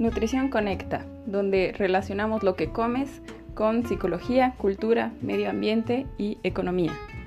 Nutrición Conecta, donde relacionamos lo que comes con psicología, cultura, medio ambiente y economía.